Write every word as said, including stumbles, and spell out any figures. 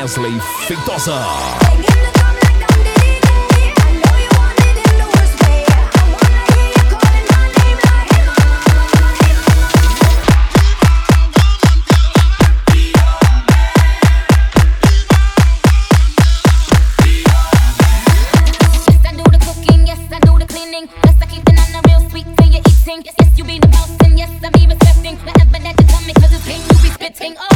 Wesley Feitosa. Yes, I keep the nana real sweet till you're eating. Yes, yes, you be the boss, and yes, I be respecting whatever that you tell me, cause it's game you be spitting. Oh.